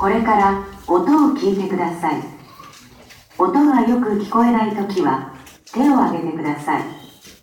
これから音を聞いてください。音がよく聞こえないときは手を挙げてください。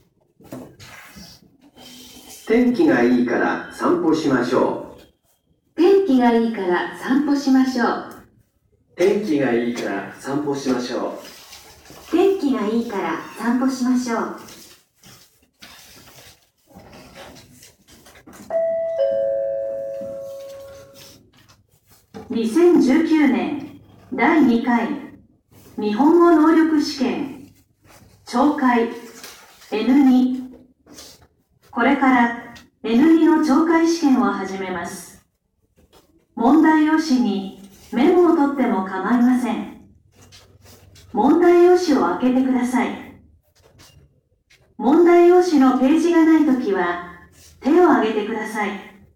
天気がいいから散歩しましょう。 天気がいいから散歩しましょう。 天気がいいから散歩しましょう。 天気がいいから散歩しましょう。2019年第2回日本語能力試験聴解 N2。 これから N2 の聴解試験を始めます。問題用紙にメモを取っても構いません。問題用紙を開けてください。問題用紙のページがないときは手を挙げてください。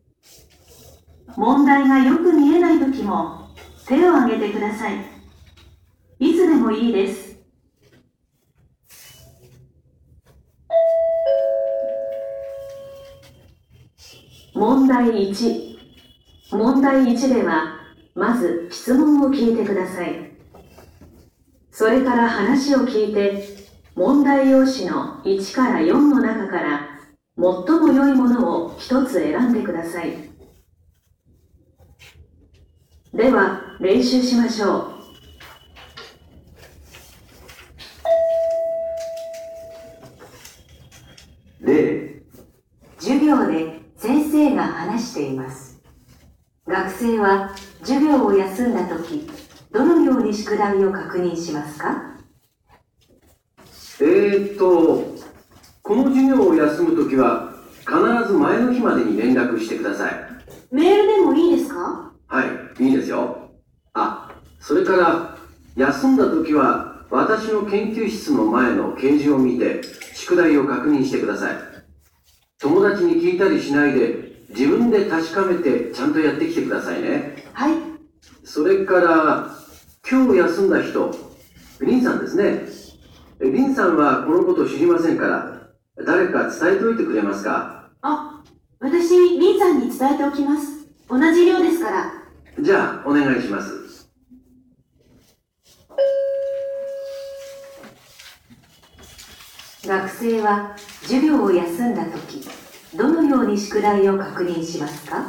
問題がよく見えないときも手を挙げてください。いつでもいいです。問題1。問題1では、まず質問を聞いてください。それから話を聞いて、問題用紙の1から4の中から最も良いものを一つ選んでください。では、練習しましょう。例。 授業で先生が話しています。学生は授業を休んだとき、どのように宿題を確認しますか？ この授業を休むときは必ず前の日までに連絡してください。 メールでもいいですか？ はい、いいですよ。それから休んだときは私の研究室の前の掲示を見て宿題を確認してください。友達に聞いたりしないで自分で確かめてちゃんとやってきてくださいね。 はい。 それから今日休んだ人、リンさんですね。リンさんはこのこと知りませんから誰か伝えておいてくれますか？ 私、リンさんに伝えておきます。同じ寮ですから。 じゃあお願いします。 学生は授業を休んだとき、どのように宿題を確認しますか？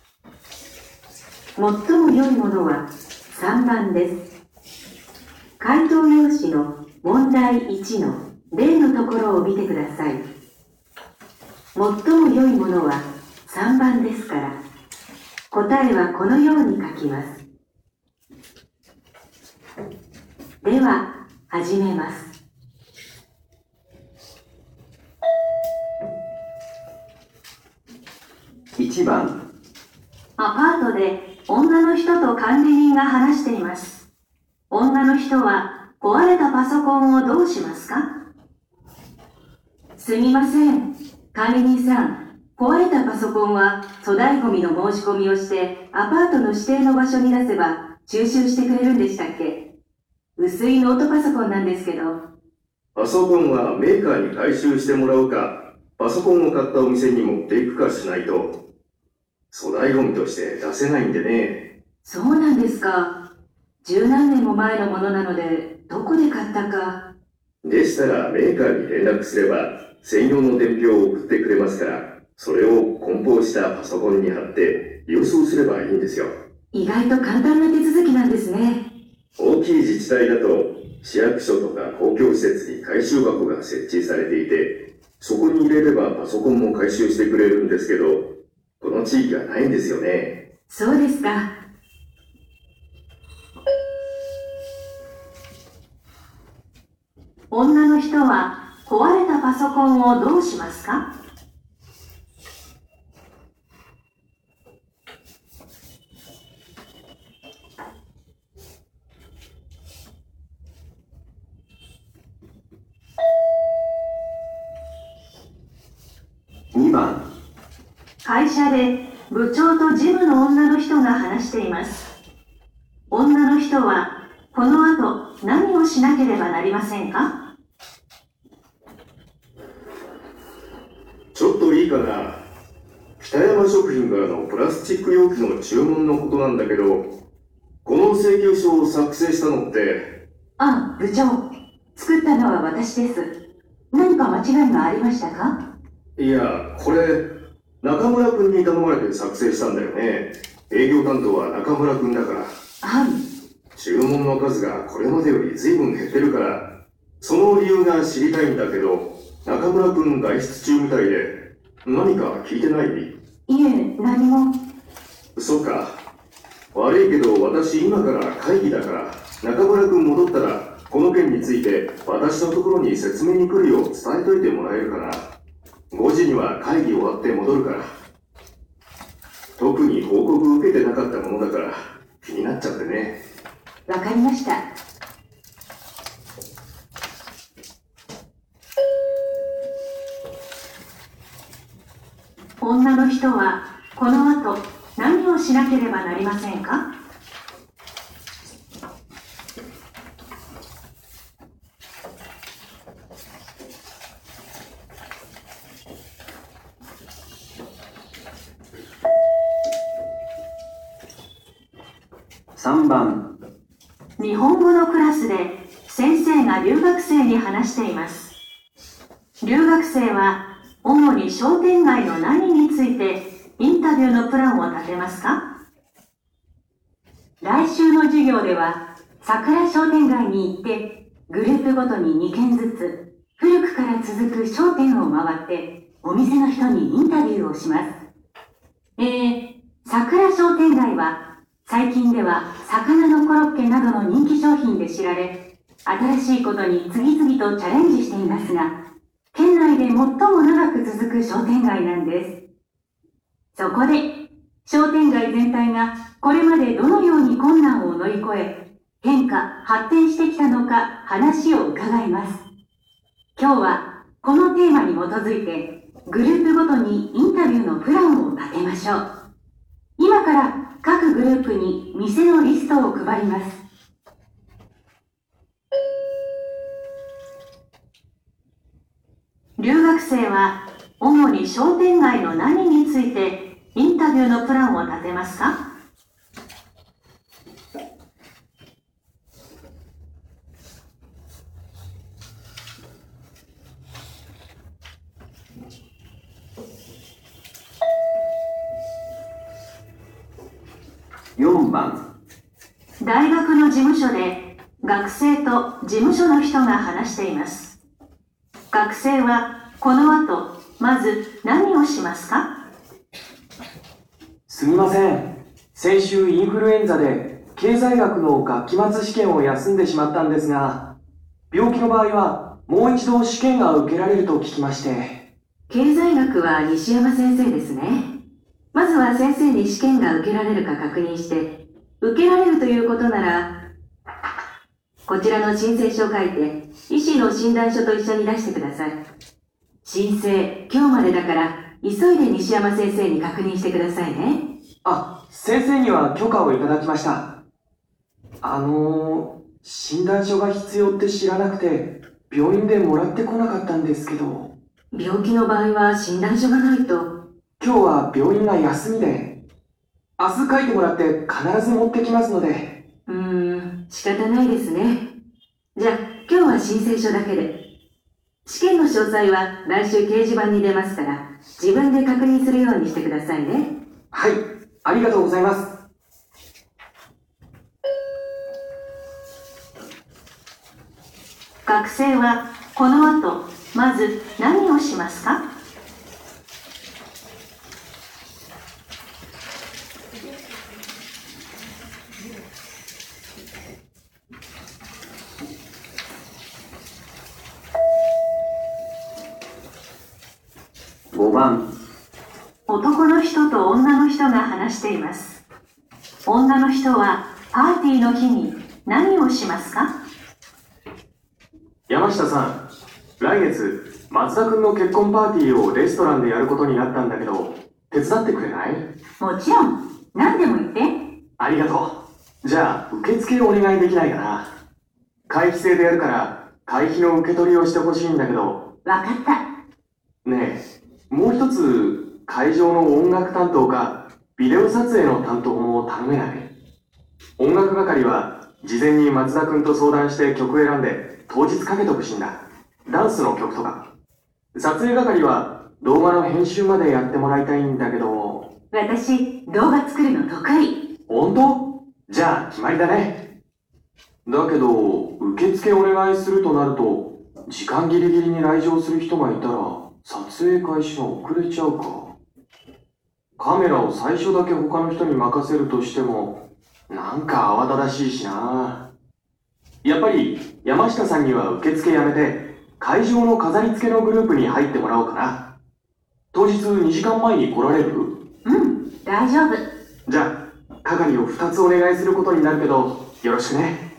最も良いものは3番です。回答用紙の問題1の例のところを見てください。最も良いものは3番ですから、答えはこのように書きます。では、始めます。 1番。 アパートで女の人と管理人が話しています。女の人は壊れたパソコンをどうしますか？すみません。管理人さん、壊れたパソコンは粗大ゴミの申し込みをしてアパートの指定の場所に出せば収集してくれるんでしたっけ？薄いノートパソコンなんですけど。 パソコンはメーカーに回収してもらうか、パソコンを買ったお店に持っていくかしないと粗大ゴミとして出せないんでね。 そうなんですか。十何年も前のものなので、どこで買ったか。 でしたらメーカーに連絡すれば、専用の伝票を送ってくれますから、それを梱包したパソコンに貼って郵送すればいいんですよ。 意外と簡単な手続きなんですね。大きい自治体だと、市役所とか公共施設に回収箱が設置されていて、そこに入れればパソコンも回収してくれるんですけど、この地域はないんですよね。 そうですか。女の人は壊れたパソコンをどうしますか？ 2番。 会社で部長と事務の女の人が話しています。女の人はこの後何をしなければなりませんか？ ちょっといいかな。北山食品からのプラスチック容器の注文のことなんだけど、 この請求書を作成したのって。 あ、部長。作ったのは私です。何か間違いがありましたか？ いや、これ、中村くんに頼まれて作成したんだよね。営業担当は中村くんだから。 はい。 注文の数がこれまでより随分減ってるから、その理由が知りたいんだけど、中村くん外出中みたいで、何か聞いてない？ いえ、何も。 そっか。悪いけど私今から会議だから、中村くん戻ったら、この件について私のところに説明に来るよう伝えといてもらえるかな。5時には会議終わって戻るから。特に報告受けてなかったものだから気になっちゃってね。 わかりました。女の人はこの後何をしなければなりませんか ？3番。 日本語のクラスで先生が留学生に話しています。留学生は主に商店街の何についてインタビューのプランを立てますか？来週の授業では桜商店街に行ってグループごとに2軒ずつ古くから続く商店を回ってお店の人にインタビューをします。桜商店街は最近では魚のコロッケなどの人気商品で知られ、新しいことに次々とチャレンジしていますが、県内で最も長く続く商店街なんです。そこで、商店街全体がこれまでどのように困難を乗り越え、変化、発展してきたのか話を伺います。今日はこのテーマに基づいて、グループごとにインタビューのプランを立てましょう。今から各グループに店のリストを配ります。留学生は主に商店街の何についてインタビューのプランを立てますか ？4番。 大学の事務所で学生と事務所の人が話しています。学生はこの後まず何をしますか？ すみません。先週インフルエンザで経済学の学期末試験を休んでしまったんですが、病気の場合はもう一度試験が受けられると聞きまして。 経済学は西山先生ですね。まずは先生に試験が受けられるか確認して、受けられるということなら、こちらの申請書を書いて、医師の診断書と一緒に出してください。申請、今日までだから、急いで西山先生に確認してくださいね。 あ、先生には許可をいただきました。診断書が必要って知らなくて、病院でもらってこなかったんですけど。 病気の場合は診断書がないと。 今日は病院が休みで、明日書いてもらって必ず持ってきますので。 仕方ないですね。じゃあ、今日は申請書だけで。試験の詳細は来週掲示板に出ますから、自分で確認するようにしてくださいね。 はい、ありがとうございます。 学生はこの後、まず何をしますか ？5番。 男の人と女の人が話しています。女の人はパーティーの日に何をしますか？ 山下さん、来月松田君の結婚パーティーをレストランでやることになったんだけど、手伝ってくれない？ もちろん。何でも言って。 ありがとう。じゃあ受付をお願いできないかな。会費制でやるから会費の受け取りをしてほしいんだけど。 わかった。 ねえ、もう一つ会場の音楽担当かビデオ撮影の担当も頼めない？ 音楽係は事前に松田くんと相談して曲選んで当日かけてほしいんだ。ダンスの曲とか。撮影係は動画の編集までやってもらいたいんだけど。 私、動画作るの得意。 本当？じゃあ決まりだね。だけど、受付お願いするとなると、時間ギリギリに来場する人がいたら、撮影開始が遅れちゃうか。カメラを最初だけ他の人に任せるとしても、なんか慌ただしいしな。やっぱり、山下さんには受付やめて、会場の飾り付けのグループに入ってもらおうかな。当日2時間前に来られる？ うん、大丈夫。 じゃあ、係を2つお願いすることになるけど、よろしくね。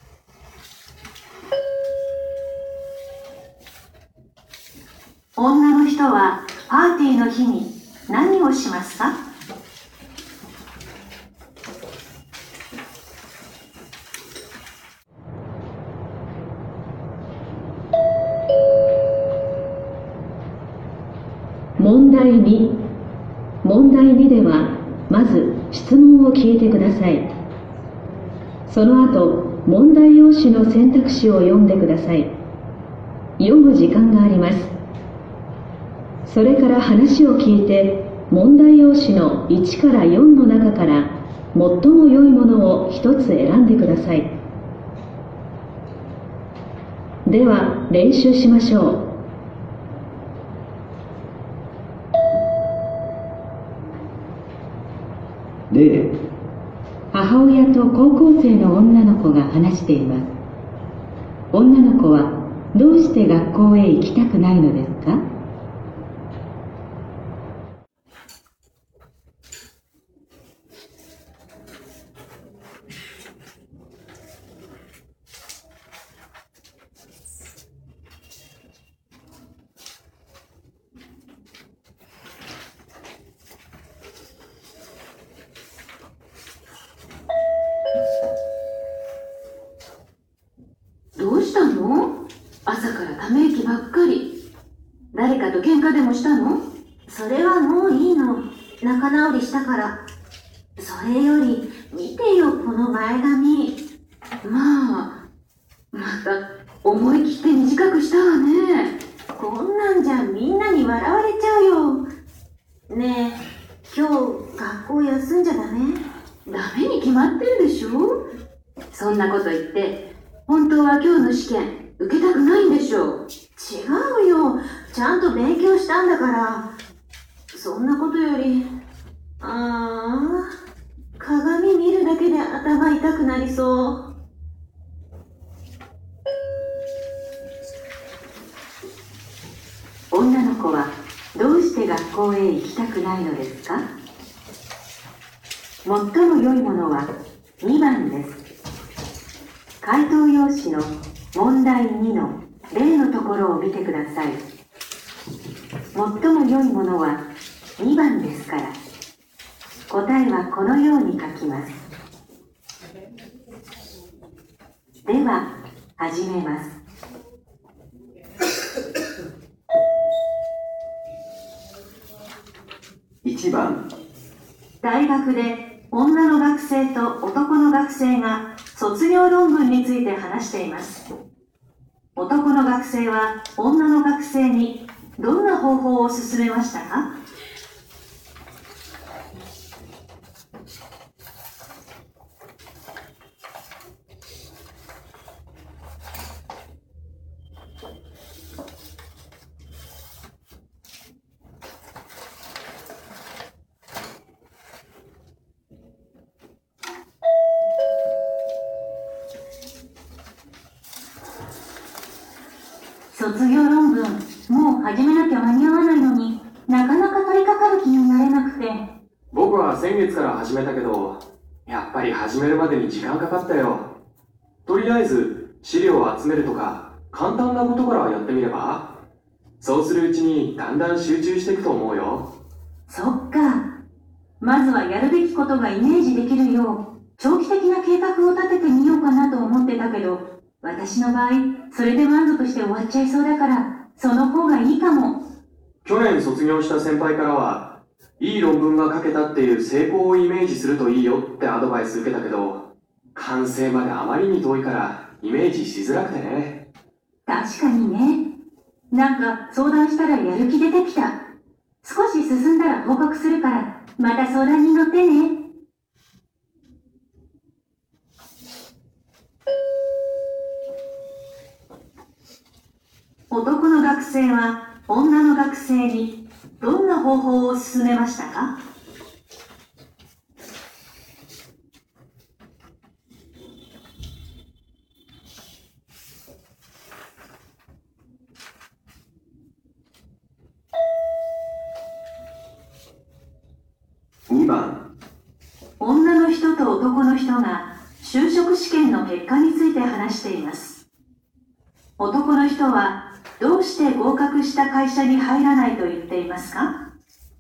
女の人はパーティーの日に何をしますか？ 問題2。問題2では、まず質問を聞いてください。その後、問題用紙の選択肢を読んでください。読む時間があります。それから話を聞いて、問題用紙の1から4の中から最も良いものを一つ選んでください。では、練習しましょう。 例、 母親と高校生の女の子が話しています。女の子はどうして学校へ行きたくないのですか？ どうしたの？朝からため息ばっかり。誰かと喧嘩でもしたの？それはもういいの。仲直りしたから。それより、見てよ、この前髪。また思い切って短くしたわね。こんなんじゃみんなに笑われちゃうよ。ねえ、今日学校休んじゃダメ？ダメに決まってるでしょ。そんなこと言って本当は今日の試験受けたくないんでしょ。違うよ、ちゃんと勉強したんだから。そんなことより、鏡見るだけで頭痛くなりそう。女の子はどうして学校へ行きたくないのですか？最も良いものは2番です。回答用紙の問題2の例のところを見てください。最も良いものは2番ですから、答えはこのように書きます。では、始めます。 1番、 大学で女の学生と男の学生が卒業論文について話しています。男の学生は女の学生にどんな方法を勧めましたか？卒業論文、もう始めなきゃ間に合わないのになかなか取り掛かる気になれなくて。 僕は先月から始めたけど、やっぱり始めるまでに時間かかったよ。とりあえず資料を集めるとか簡単なことからやってみれば？そうするうちにだんだん集中していくと思うよ。 そっか。まずはやるべきことがイメージできるよう長期的な計画を立ててみようかなと思ってたけど、私の場合それで満足して終わっちゃいそうだから、その方がいいかも。 去年卒業した先輩からは、いい論文が書けたっていう成功をイメージするといいよってアドバイス受けたけど、 完成まであまりに遠いからイメージしづらくてね。 確かにね。なんか相談したらやる気出てきた。少し進んだら報告するから、また相談に乗ってね。男の学生は女の学生にどんな方法を勧めましたか ？2番。 女の人と男の人が就職試験の結果について話しています。男の人はどうして合格した会社に入らないと言っていますか？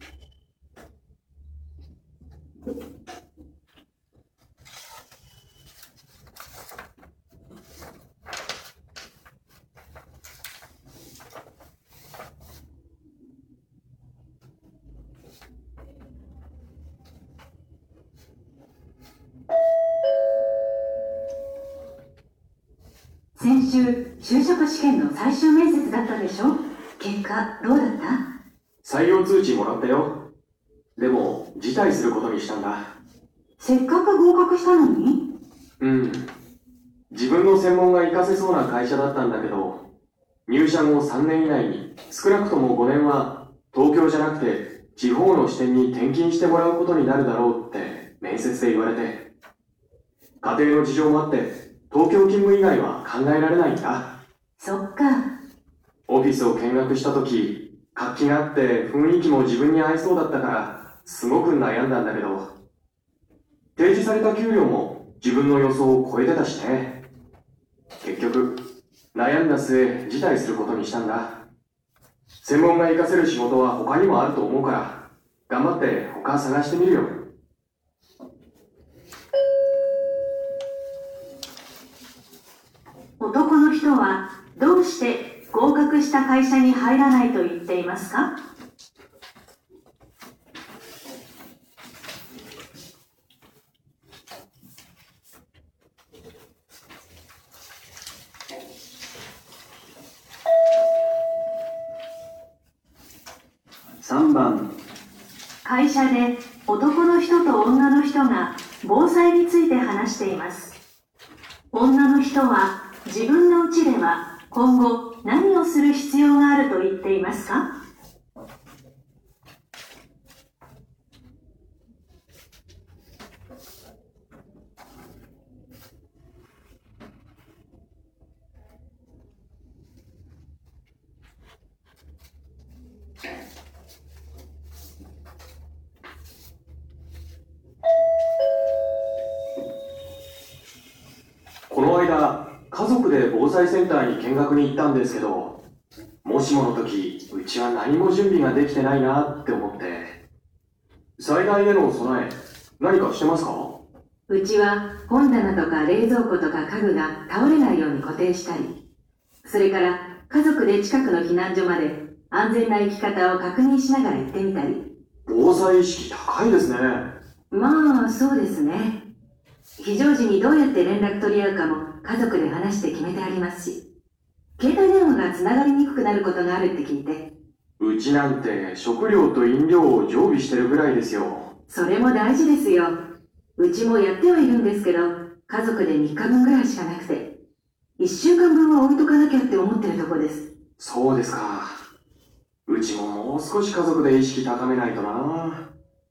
先週、就職試験の最終面接だったでしょ？結果、どうだった？ 採用通知もらったよ。でも、辞退することにしたんだ。 せっかく合格したのに？ うん。自分の専門が活かせそうな会社だったんだけど、入社後3年以内に少なくとも5年は東京じゃなくて地方の支店に転勤してもらうことになるだろうって面接で言われて、家庭の事情もあって東京勤務以外は考えられないんだ。 そっか。 オフィスを見学した時、活気があって雰囲気も自分に合いそうだったからすごく悩んだんだけど、提示された給料も自分の予想を超えてたしね。結局悩んだ末辞退することにしたんだ。専門が活かせる仕事は他にもあると思うから頑張って他探してみるよ。 男の人はどうして合格した会社に入らないと言っていますか？ 3番。 会社で男の人と女の人が防災について話しています。女の人は自分の家では今後何をする必要があると言っていますか？ この間、家族で防災センターに見学に行ったんですけど、もしもの時、うちは何も準備ができてないなって思って。災害への備え、何かしてますか？ うちは本棚とか冷蔵庫とか家具が倒れないように固定したり、それから家族で近くの避難所まで安全な行き方を確認しながら行ってみたり。 防災意識高いですね。 まあそうですね。非常時にどうやって連絡取り合うかも家族で話して決めてありますし、携帯電話がつながりにくくなることがあるって聞いて。 うちなんて食料と飲料を常備してるぐらいですよ。 それも大事ですよ。うちもやってはいるんですけど、家族で3日分ぐらいしかなくて、1週間分は置いとかなきゃって思ってるとこです。 そうですか。うちももう少し家族で意識高めないとな。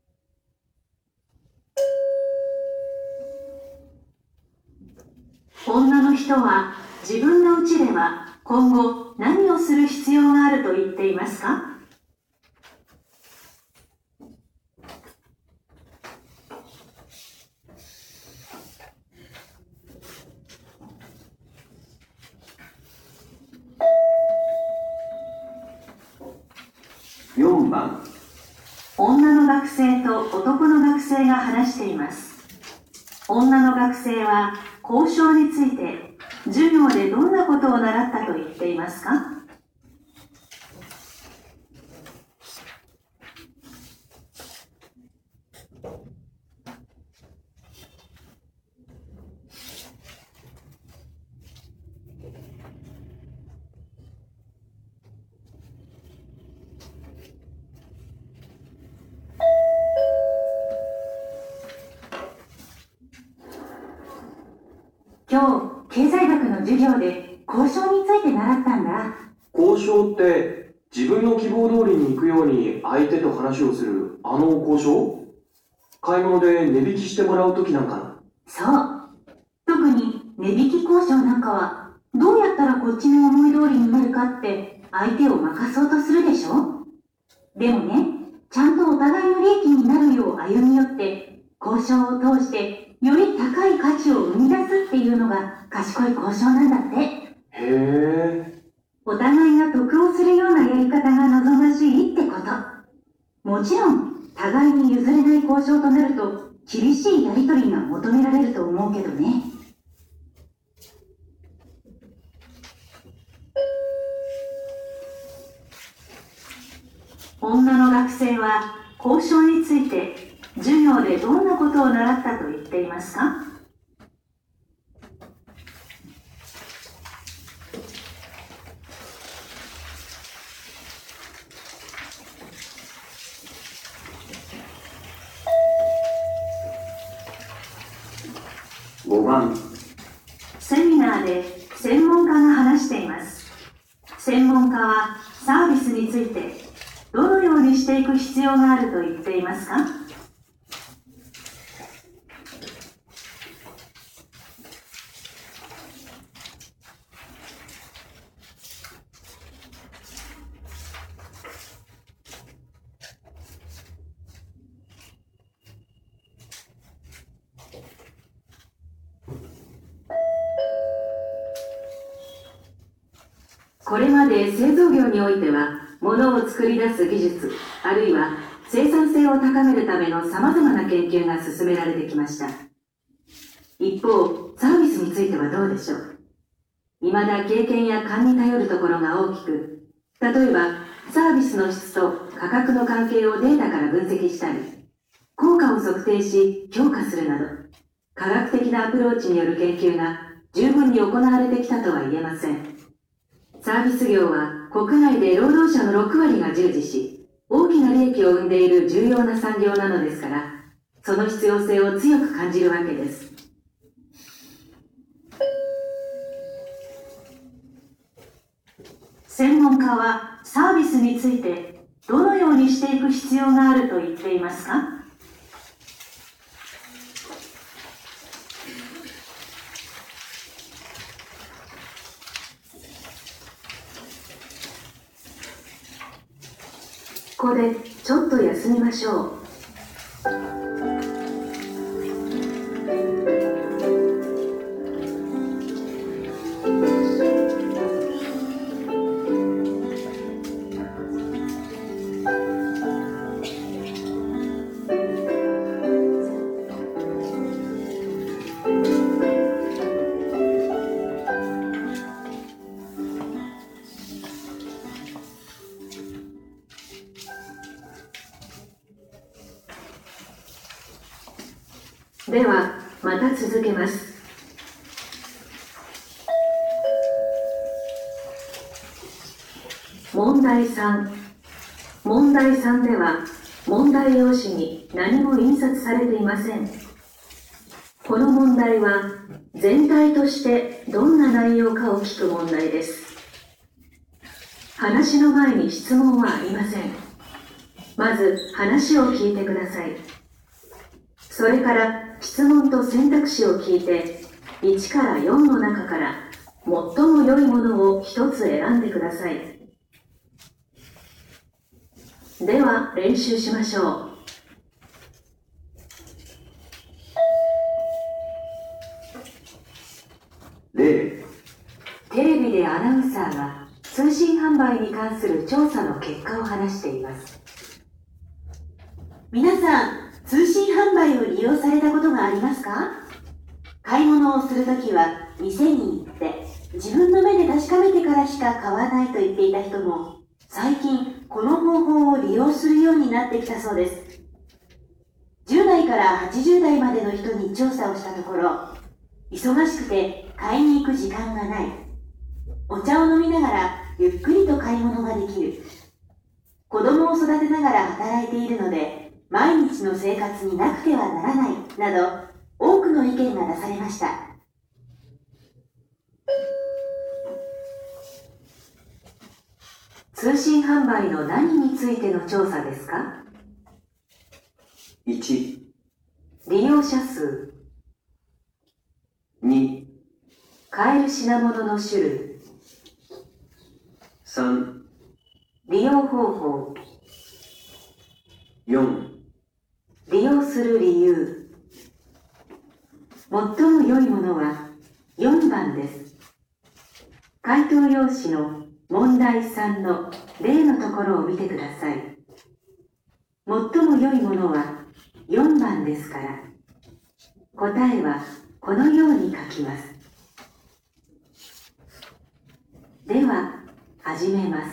女の人は自分の家では今後何をする必要があると言っていますか？ 4番。 女の学生と男の学生が話しています。女の学生は交渉について授業でどんなことを習ったと言っていますか？ 経済学の授業で交渉について習ったんだ。 交渉って自分の希望通りに行くように相手と話をするあの交渉？買い物で値引きしてもらうときなんかな。 そう。特に値引き交渉なんかは、どうやったらこっちの思い通りになるかって相手を任そうとするでしょ。でもね、ちゃんとお互いの利益になるよう歩み寄って、交渉を通してより高い価値を生み出すっていうのが賢い交渉なんだって。 へえ。 お互いが得をするようなやり方が望ましいってこと。もちろん、互いに譲れない交渉となると、厳しいやり取りが求められると思うけどね。女の学生は交渉について授業でどんなことを習ったと言っていますか？ 5番。 セミナーで専門家が話しています。専門家はサービスについてどのようにしていく必要があると言っていますか？これまで製造業においては、物を作り出す技術、あるいは生産性を高めるための様々な研究が進められてきました。一方、サービスについてはどうでしょう。未だ経験や勘に頼るところが大きく、例えば、サービスの質と価格の関係をデータから分析したり、効果を測定し評価するなど、科学的なアプローチによる研究が十分に行われてきたとは言えません。サービス業は国内で労働者の6割が従事し、大きな利益を生んでいる重要な産業なのですから、その必要性を強く感じるわけです。専門家はサービスについてどのようにしていく必要があると言っていますか？ここでちょっと休みましょう。では、また続けます。問題3。問題3では、問題用紙に何も印刷されていません。この問題は、全体としてどんな内容かを聞く問題です。話の前に質問はありません。まず、話を聞いてください。それから質問と選択肢を聞いて、1から4の中から最も良いものを一つ選んでください。では練習しましょう。例、 テレビでアナウンサーが通信販売に関する調査の結果を話しています。 皆さん、通信販売を利用されたことがありますか？買い物をするときは店に行って自分の目で確かめてからしか買わないと言っていた人も最近この方法を利用するようになってきたそうです。10代から80代までの人に調査をしたところ、忙しくて買いに行く時間がない、お茶を飲みながらゆっくりと買い物ができる、子供を育てながら働いているので毎日の生活になくてはならないなど多くの意見が出されました。 通信販売の何についての調査ですか？ 1、 利用者数、 2、 買える品物の種類、 3、 利用方法、 4、 利用する理由。最も良いものは4番です。回答用紙の問題3の例のところを見てください。最も良いものは4番ですから、答えはこのように書きます。では、始めます。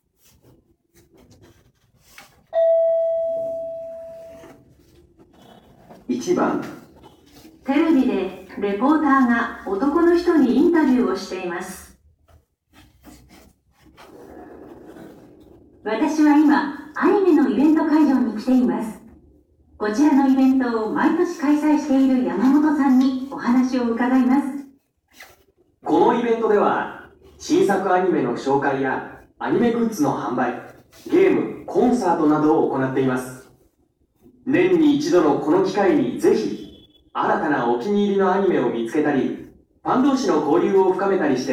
1番、 テレビでレポーターが男の人にインタビューをしています。私は今、アニメのイベント会場に来ています。こちらのイベントを毎年開催している山本さんにお話を伺います。 このイベントでは、新作アニメの紹介やアニメグッズの販売、ゲーム、コンサートなどを行っています。年に一度のこの機会にぜひ、新たなお気に入りのアニメを見つけたり、ファン同士の交流を深めたりして、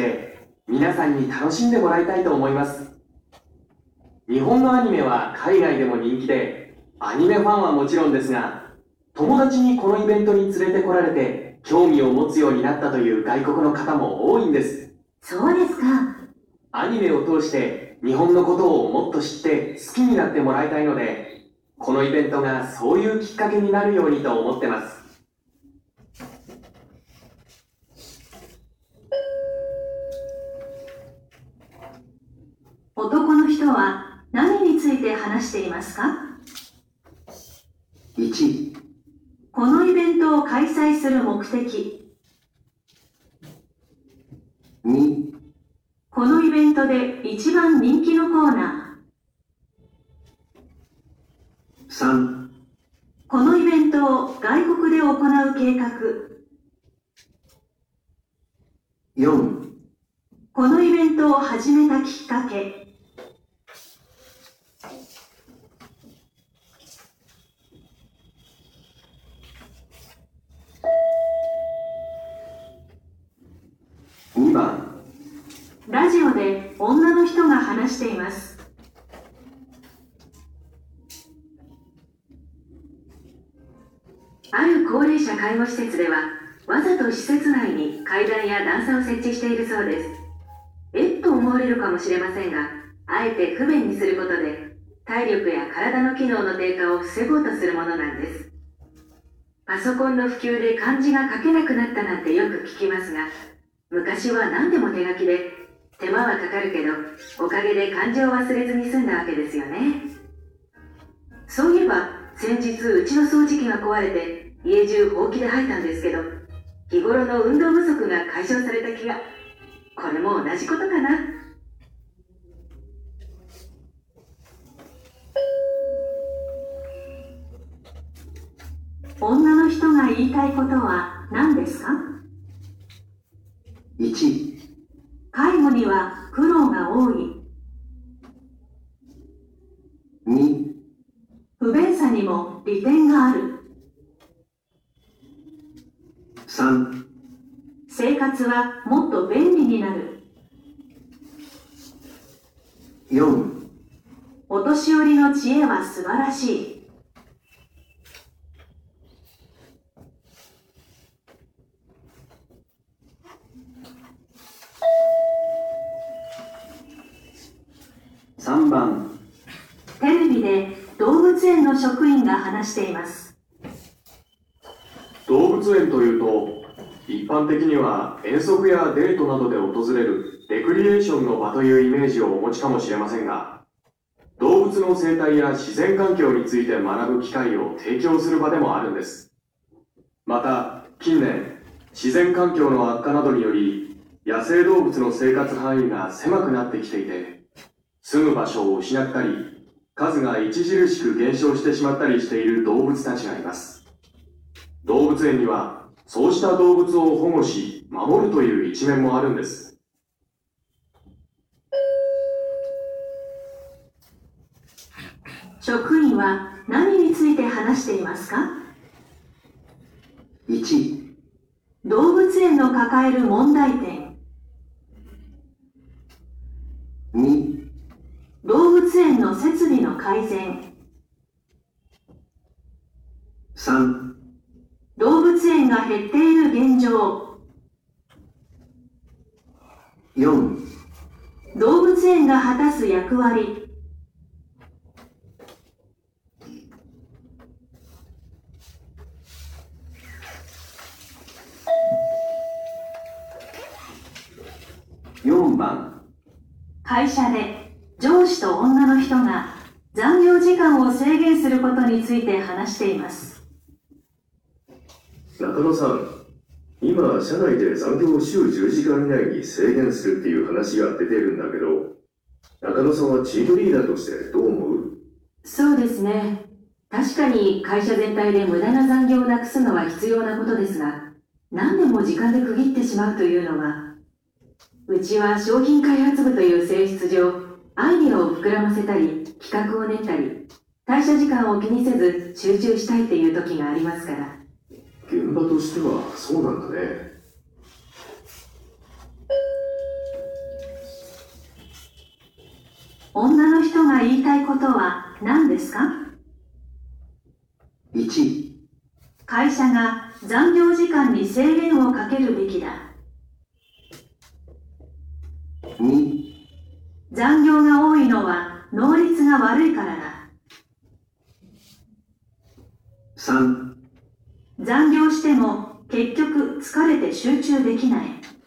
皆さんに楽しんでもらいたいと思います。日本のアニメは海外でも人気で、アニメファンはもちろんですが、友達にこのイベントに連れてこられて、興味を持つようになったという外国の方も多いんです。 そうですか。 アニメを通して日本のことをもっと知って好きになってもらいたいので、このイベントがそういうきっかけになるようにと思ってます。 男の人は何について話していますか？ 1、 このイベントを開催する目的。 2、 このイベントで一番人気のコーナー。 3、 このイベントを外国で行う計画。 4、 このイベントを始めたきっかけ。 2番、 ラジオで女の人が話しています。ある高齢者介護施設では、わざと施設内に階段や段差を設置しているそうです。と思われるかもしれませんが、あえて不便にすることで、体力や体の機能の低下を防ごうとするものなんです。パソコンの普及で漢字が書けなくなったなんてよく聞きますが、昔は何でも手書きで、手間はかかるけど、おかげで漢字を忘れずに済んだわけですよね。そういえば、先日うちの掃除機が壊れて、家中ほうきで吐いたんですけど、日頃の運動不足が解消された気が。これも同じことかな。女の人が言いたいことは何ですか？ 1、 介護には苦労が多い。 2、 不便さにも利点がある。 3、 生活はもっと便利になる。 4、 お年寄りの知恵は素晴らしい。 3番、 テレビで動物園の職員が話しています。 動物園というと、一般的には遠足やデートなどで訪れるレクリエーションの場というイメージをお持ちかもしれませんが、動物の生態や自然環境について学ぶ機会を提供する場でもあるんです。また、近年、自然環境の悪化などにより、野生動物の生活範囲が狭くなってきていて、住む場所を失ったり、数が著しく減少してしまったりしている動物たちがいます。動物園には、そうした動物を保護し、守るという一面もあるんです。 職員は何について話していますか？ 1、 動物園の抱える問題点。 2、 動物園の設備の改善。 3、 動物園が減っている現状。 4、 動物園が果たす役割。 4番、 会社で上司と女の人が残業時間を制限することについて話しています。 中野さん、今、社内で残業を週10時間以内に制限するっていう話が出てるんだけど、中野さんはチームリーダーとしてどう思う？ そうですね。確かに会社全体で無駄な残業をなくすのは必要なことですが、何でも時間で区切ってしまうというのは、うちは商品開発部という性質上、アイデアを膨らませたり、企画を練ったり、退社時間を気にせず集中したいっていう時がありますから。 現場としてはそうなんだね。 女の人が言いたいことは何ですか？ 1、 会社が残業時間に制限をかけるべきだ。 2、 残業が多いのは能率が悪いからだ。 3、 残業しても結局疲れて集中できない。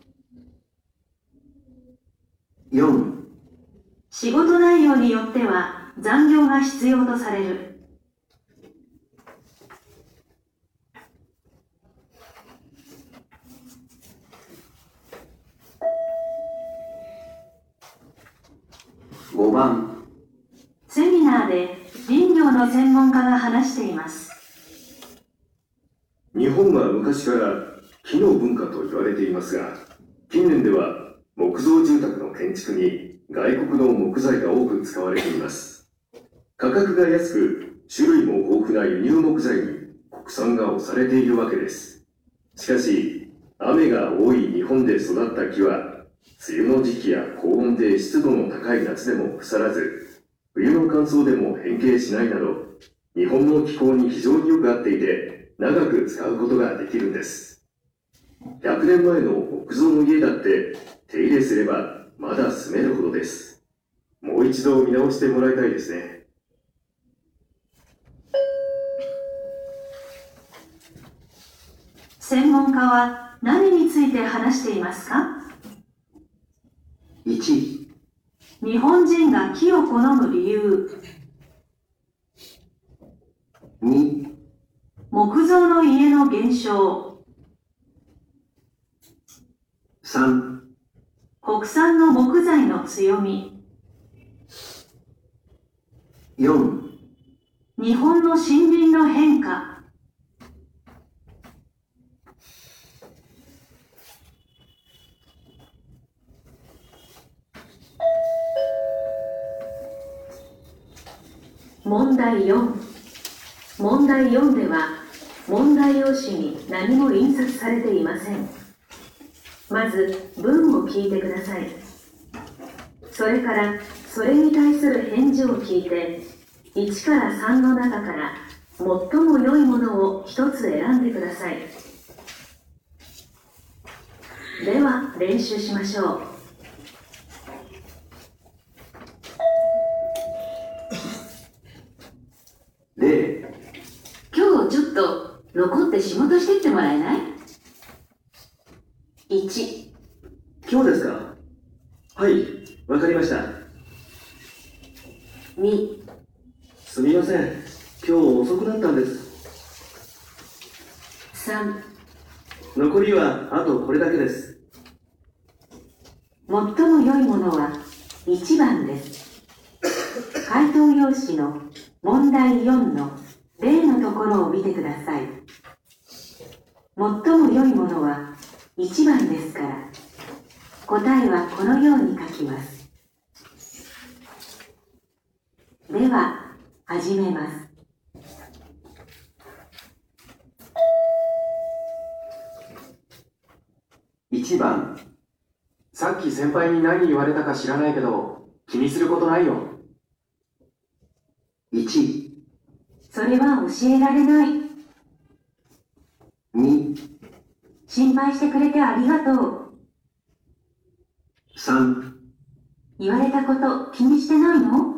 4、 仕事内容によっては残業が必要とされる。 5番、 セミナーで林業の専門家が話しています。 日本は昔から木の文化と言われていますが、近年では木造住宅の建築に外国の木材が多く使われています。価格が安く、種類も豊富な輸入木材に国産が押されているわけです。しかし、雨が多い日本で育った木は、梅雨の時期や高温で湿度の高い夏でも腐らず、冬の乾燥でも変形しないなど、日本の気候に非常によく合っていて、長く使うことができるんです。100年前の木造の家だって手入れすればまだ住めるほどです。もう一度見直してもらいたいですね。 専門家は何について話していますか？ 1、 日本人が木を好む理由。 2、 木造の家の減少。 3、 国産の木材の強み。 4、 日本の森林の変化。問題4。問題4では、問題用紙に何も印刷されていません。まず、文を聞いてください。それから、それに対する返事を聞いて、1から3の中から最も良いものを一つ選んでください。では、練習しましょう。 0、 今日ちょっと残って仕事してってもらえない？ 1、 今日ですか？はい、わかりました。 2、 すみません、今日遅くなったんです。 3、 残りはあとこれだけです。 最も良いものは1番です。回答用紙の問題4の例のところを見てください。最も良いものは1番ですから、答えはこのように書きます。では、 始めます。 1番、 さっき先輩に何言われたか知らないけど、気にすることないよ。 1、 それは教えられない。 2、 心配してくれてありがとう。 3、 言われたこと気にしてないの？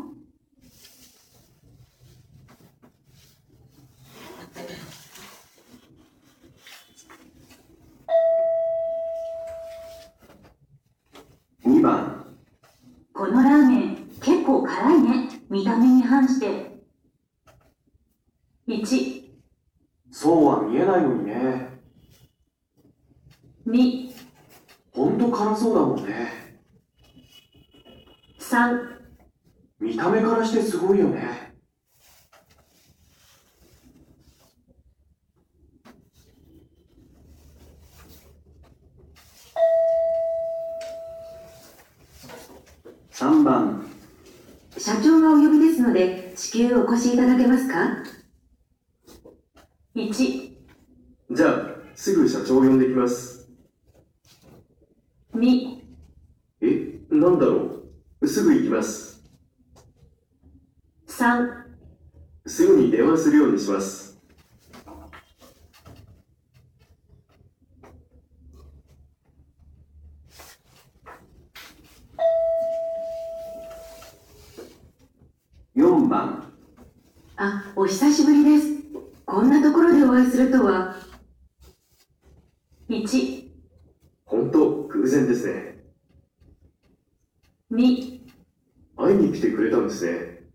2番、 このラーメン結構辛いね。見た目に反して。1、 そうは見えないのにね。 2、 ほんと辛そうだもんね。 3、 見た目からしてすごいよね。 3番、 社長がお呼びですので、至急お越しいただけますか？ 1、 じゃあ、すぐ社長を呼んできます。 2、 なんだろう。すぐ行きます。 3、 すぐに電話するようにします。 4番、 あ、お久しぶりです。こんなところでお会いするとは。 1、 本当、偶然ですね。 2、 会いに来てくれたんですね。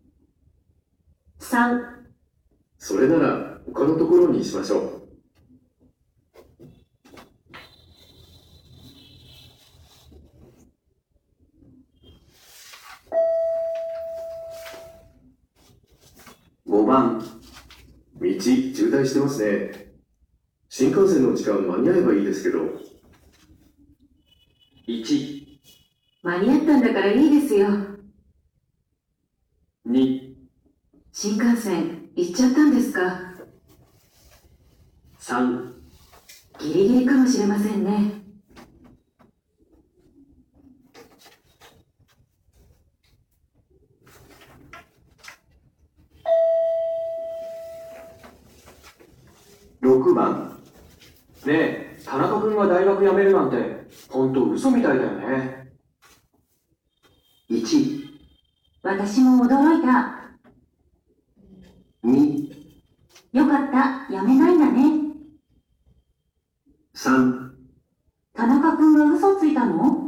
3、 それなら、他のところにしましょう。 5番、 道、渋滞してますね。新幹線の時間間に合えばいいですけど。 1、 間に合ったんだからいいですよ。 2、 新幹線行っちゃったんですか？ 3、 ギリギリかもしれませんね。 6番、 ねえ、田中君が大学辞めるなんて、ほんと嘘みたいだよね。 1、 私も驚いた。 2、 よかった、やめないんだね。 3、 田中君が嘘ついたの？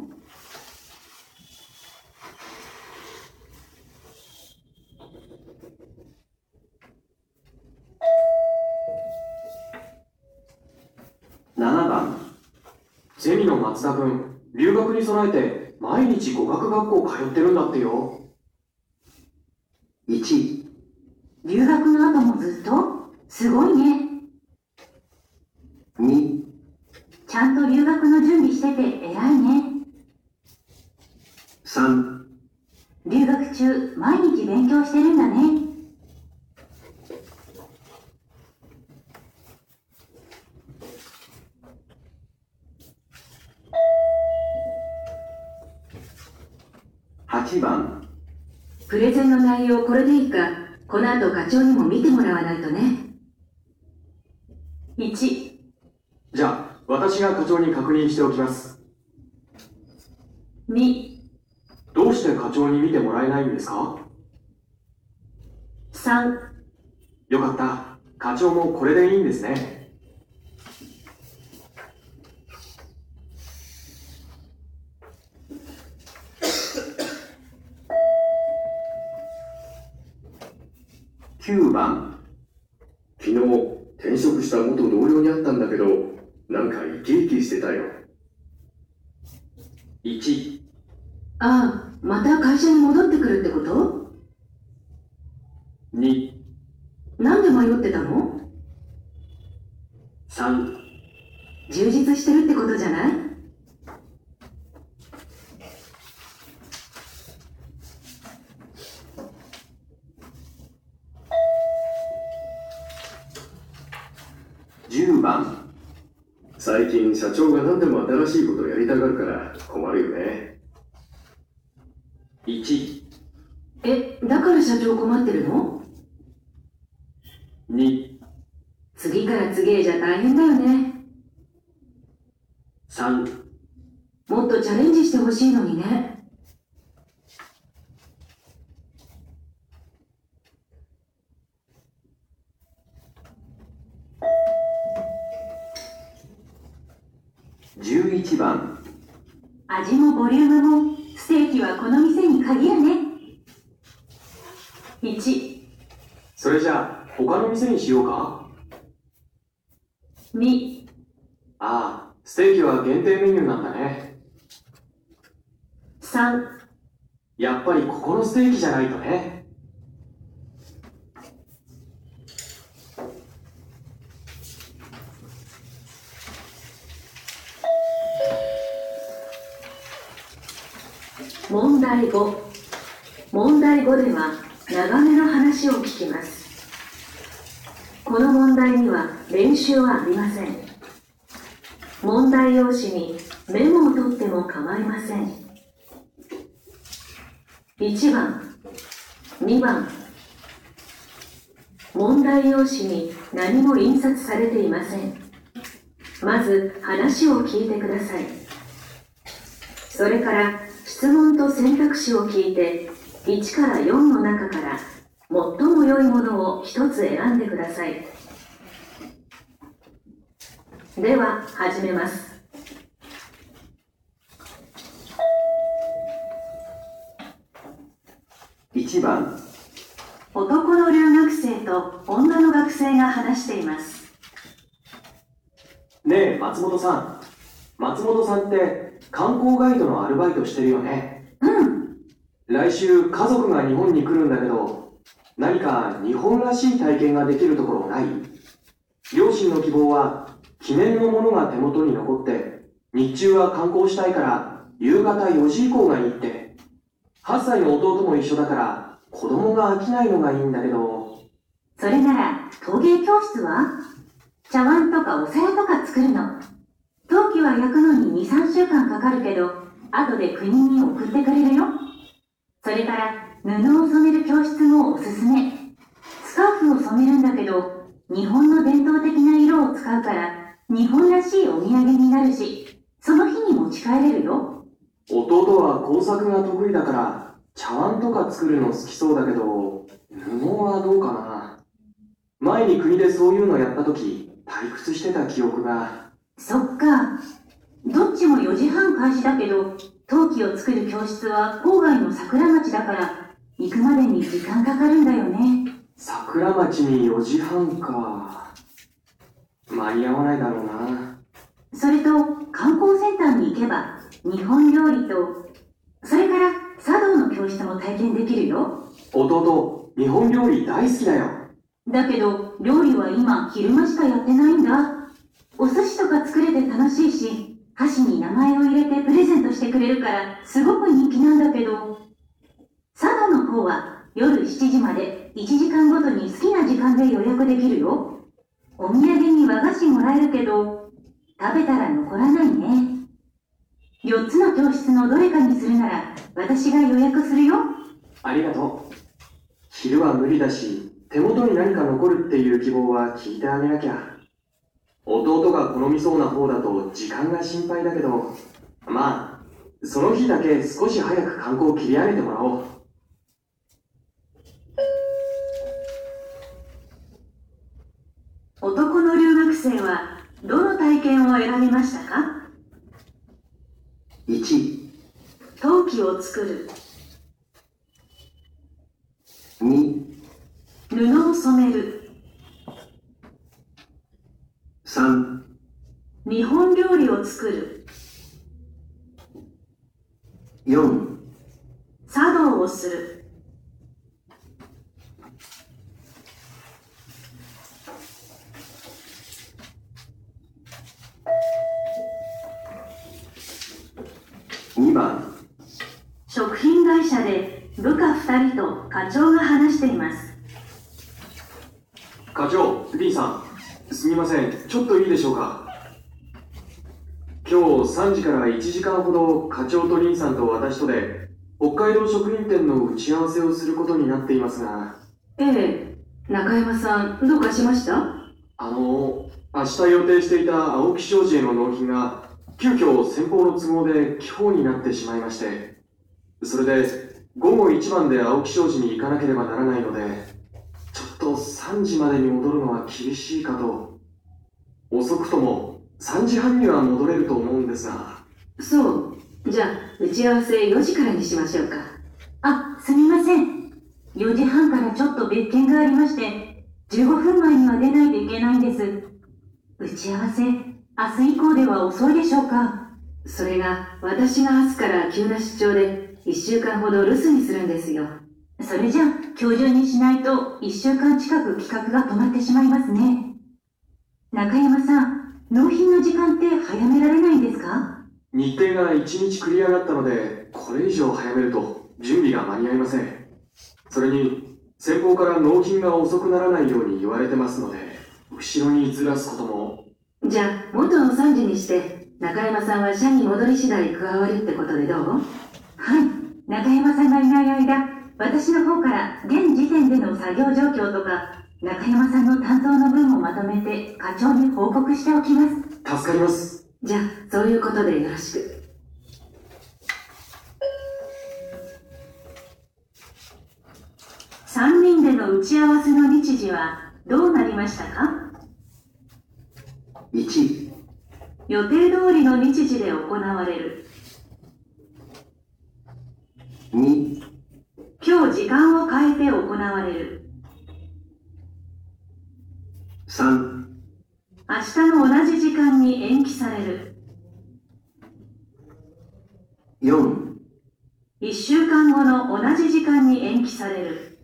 7番、 ゼミの松田君、留学に備えて毎日語学学校通ってるんだってよ。 1、 留学の後もずっと？すごいね。 2、 ちゃんと留学の準備してて偉いね。 3、 留学中毎日勉強してるんだね。 8番、 プレゼンの内容これでいいか、この後課長にも見てもらわないとね。 1、 じゃあ、私が課長に確認しておきます。 2、 どうして課長に見てもらえないんですか？ 3、 よかった。課長もこれでいいんですね。 9番、 昨日、転職した元同僚に会ったんだけど、なんかイケイケしてたよ。 1、 ああ、また会社に戻ってくるってこと？ 2、 なんで迷ってたの？ 3、 充実してるってことじゃない？ 10番。 最近社長が何でも新しいことをやりたがるから困るよね。 1、 だから社長困ってるの？ 2、 次から次へじゃ大変だよね。 3、 もっとチャレンジしてほしいのにね。 11番。 味もボリュームもステーキはこの店に限るね。1、 それじゃあ他の店にしようか。 2、 ああ、ステーキは限定メニューなんだね。 3、 やっぱりここのステーキじゃないとね。 問題5。問題5では長めの話を聞きます。この問題には練習はありません。問題用紙にメモを取っても構いません。1番、2番。問題用紙に何も印刷されていません。まず話を聞いてください。それから質問と選択肢を聞いて1から4の中から最も良いものを一つ選んでください。では始めます。 1番。 男の留学生と女の学生が話しています。 ねえ、松本さん。松本さんって観光ガイドのアルバイトしてるよね。 うん。 来週家族が日本に来るんだけど、何か日本らしい体験ができるところない？両親の希望は記念のものが手元に残って日中は観光したいから夕方4時以降がいいって。8歳の弟も一緒だから子供が飽きないのがいいんだけど。 それなら陶芸教室は？茶碗とかお皿とか作るの。陶器は焼くのに 2,3 週間かかるけど後で国に送ってくれるよ。それから布を染める教室もおすすめ。スカーフを染めるんだけど日本の伝統的な色を使うから日本らしいお土産になるし、その日に持ち帰れるよ。 弟は工作が得意だから茶碗とか作るの好きそうだけど、布はどうかな。前に国でそういうのやった時退屈してた記憶が。 そっか。どっちも4時半開始だけど陶器を作る教室は郊外の桜町だから行くまでに時間かかるんだよね。 桜町に4時半か。間に合わないだろうな。 それと観光センターに行けば日本料理と、それから茶道の教室も体験できるよ。 弟、日本料理大好きだよ。 だけど料理は今昼間しかやってないんだ。お寿司とか作れて楽しいし、箸に名前を入れてプレゼントしてくれるからすごく人気なんだけど、茶道の方は夜7時まで1時間ごとに好きな時間で予約できるよ。お土産に和菓子もらえるけど食べたら残らないね。4つの教室のどれかにするなら私が予約するよ。 ありがとう。昼は無理だし、手元に何か残るっていう希望は聞いてあげなきゃ。弟が好みそうな方だと時間が心配だけど、まあその日だけ少し早く観光を切り上げてもらおう。 男の留学生はどの体験を選びましたか？ 1、 陶器を作る。 2、 布を染める。 3、 日本料理を作る。 4、 茶道をする。 2番。 食品会社で部下2人と課長が話しています。 課長、D さん、 すみません、ちょっといいでしょうか。今日3時から1時間ほど課長とリンさんと私とで北海道食品店の打ち合わせをすることになっていますが。 ええ、中山さん、どうかしました？ 明日予定していた青木商事への納品が急遽先方の都合で今日になってしまいまして、それで午後1番で青木商事に行かなければならないので、ちょっと3時までに戻るのは厳しいかと。遅くとも3時半には戻れると思うんですが。 そう。じゃあ、打ち合わせ4時からにしましょうか。 あ、すみません。4時半からちょっと別件がありまして、15分前には出ないといけないんです。打ち合わせ、明日以降では遅いでしょうか？ それが、私が明日から急な出張で、1週間ほど留守にするんですよ。 それじゃあ、今日中にしないと1週間近く企画が止まってしまいますね。中山さん、納品の時間って早められないんですか？ 日程が1日繰り上がったので、これ以上早めると準備が間に合いません。それに、先方から納品が遅くならないように言われてますので、後ろにずらすことも。 じゃあ、元の3時にして、中山さんは社に戻り次第加わるってことでどう？ はい。中山さんがいない間、私の方から現時点での作業状況とか、中山さんの担当の分をまとめて課長に報告しておきます。 助かります。 じゃあ、そういうことでよろしく。 3人での打ち合わせの日時はどうなりましたか？ 1、 予定通りの日時で行われる。 2、 今日時間を変えて行われる。 3、 明日の同じ時間に延期される。 4、 1週間後の同じ時間に延期される。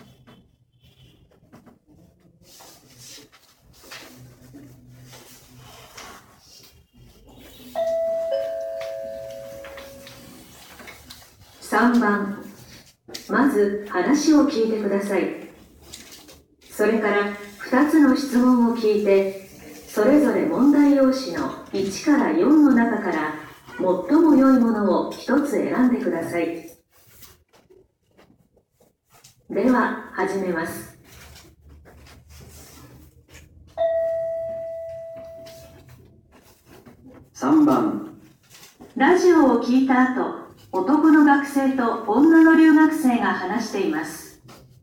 3番、まず話を聞いてください。それから2つの質問を聞いて、それぞれ問題用紙の1から4の中から最も良いものを1つ選んでください。では始めます。 3番、 ラジオを聞いた後、男の学生と女の留学生が話しています。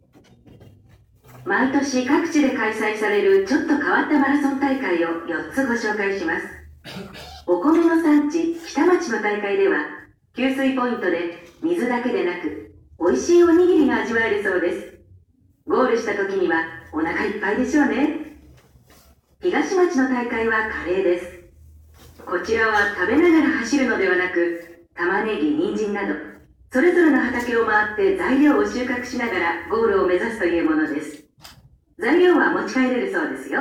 毎年各地で開催されるちょっと変わったマラソン大会を4つご紹介します。お米の産地北町の大会では、給水ポイントで水だけでなく美味しいおにぎりが味わえるそうです。ゴールした時にはお腹いっぱいでしょうね。東町の大会はカレーです。こちらは食べながら走るのではなく、玉ねぎ、人参などそれぞれの畑を回って材料を収穫しながらゴールを目指すというものです。材料は持ち帰れるそうですよ。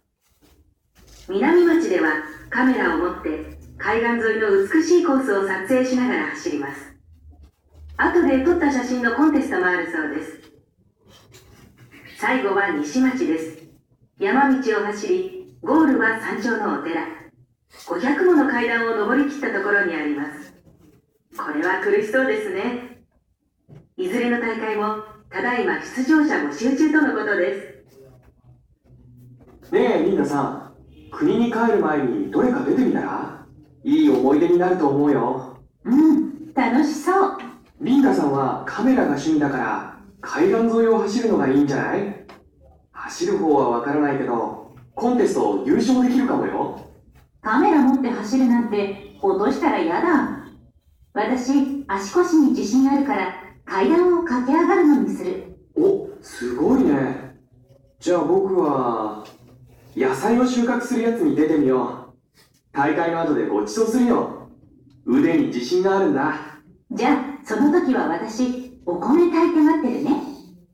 南町ではカメラを持って海岸沿いの美しいコースを撮影しながら走ります。後で撮った写真のコンテストもあるそうです。最後は西町です。山道を走り、ゴールは山頂のお寺。500もの階段を登り切ったところにあります。これは苦しそうですね。いずれの大会もただいま出場者募集中とのことです。 ねえ、リンダさん。国に帰る前にどれか出てみたら？いい思い出になると思うよ。 うん、楽しそう。 リンダさんはカメラが趣味だから、海岸沿いを走るのがいいんじゃない？走る方はわからないけど、コンテスト優勝できるかもよ。 カメラ持って走るなんて落としたら嫌だ。私、足腰に自信あるから階段を駆け上がるのにする。 お、すごいね。じゃあ僕は野菜を収穫するやつに出てみよう。大会の後でご馳走するよ。腕に自信があるんだ。 じゃあその時は私、お米炊いて待ってるね。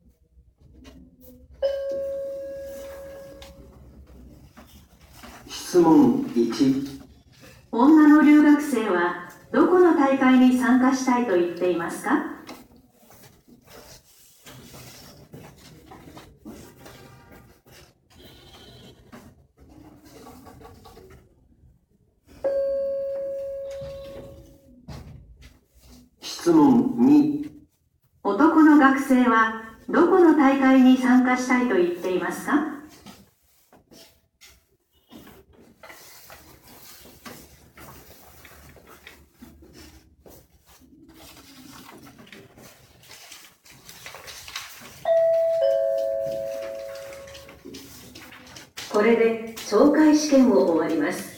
質問1、 女の留学生はどこの大会に参加したいと言っていますか？ 質問2。 男の学生はどこの大会に参加したいと言っていますか？ これで懲戒試験を終わります。